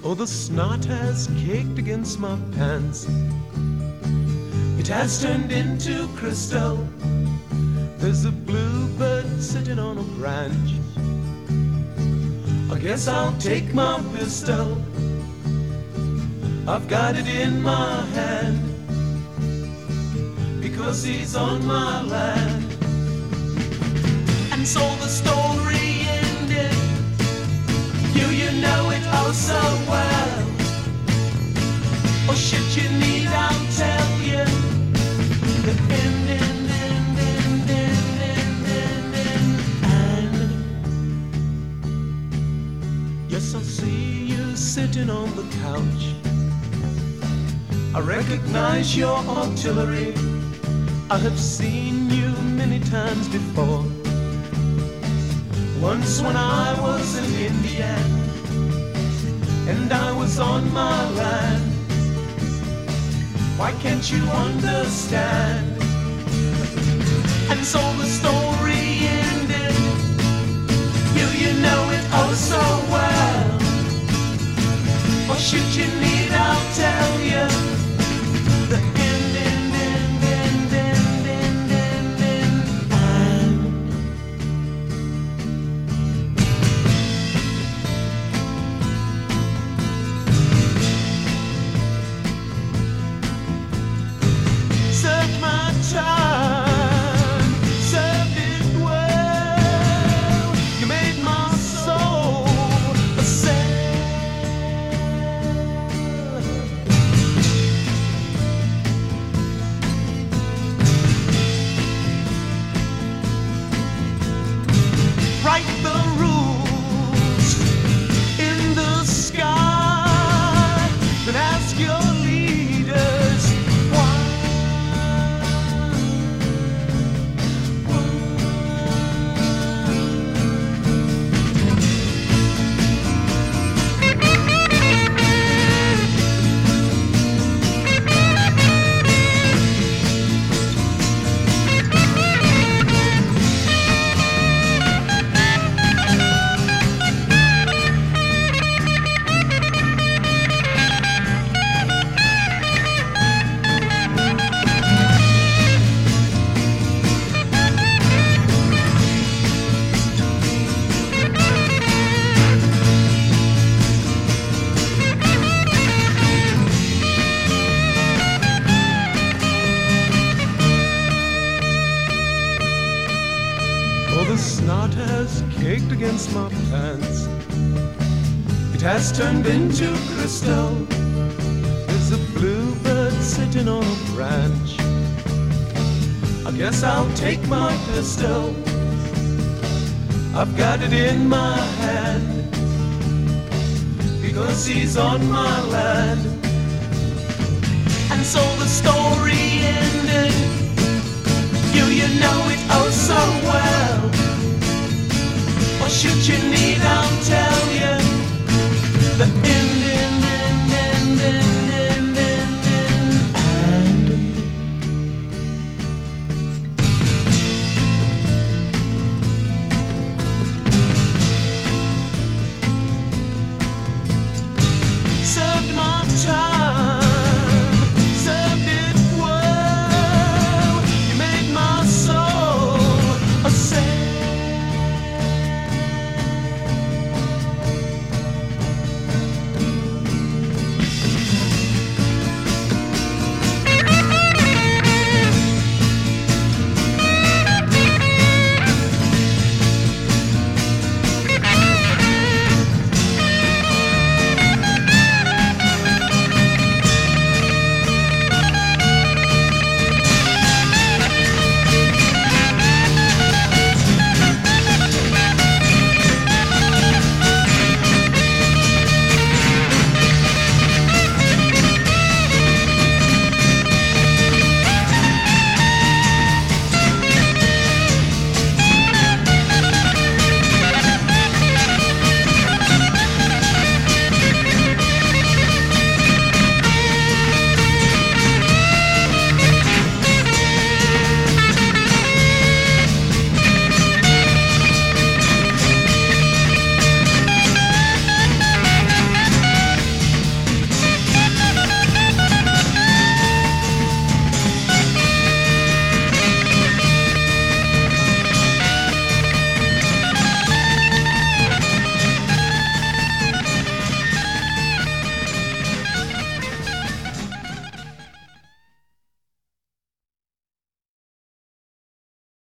Oh, the snot has caked against my pants. It has turned into crystal. There's a bluebird sitting on a branch. I guess I'll take my pistol. I've got it in my hand because he's on my land. And so the story ended. You know it oh so well. Or should you need I'll tell you the ending. Yes, I see you sitting on the couch. I recognize your artillery. I have seen you many times before. Once when I was an Indian and I was on my land. Why can't you understand? And so the story ended. You know it oh so well. Or should you need I'll tell you the snot has caked against my pants. It has turned into crystal. There's a bluebird sitting on a branch. I guess I'll take my pistol. I've got it in my hand because he's on my land. And so the story ended. You know it oh so well. Or should you need I'll tell you the end.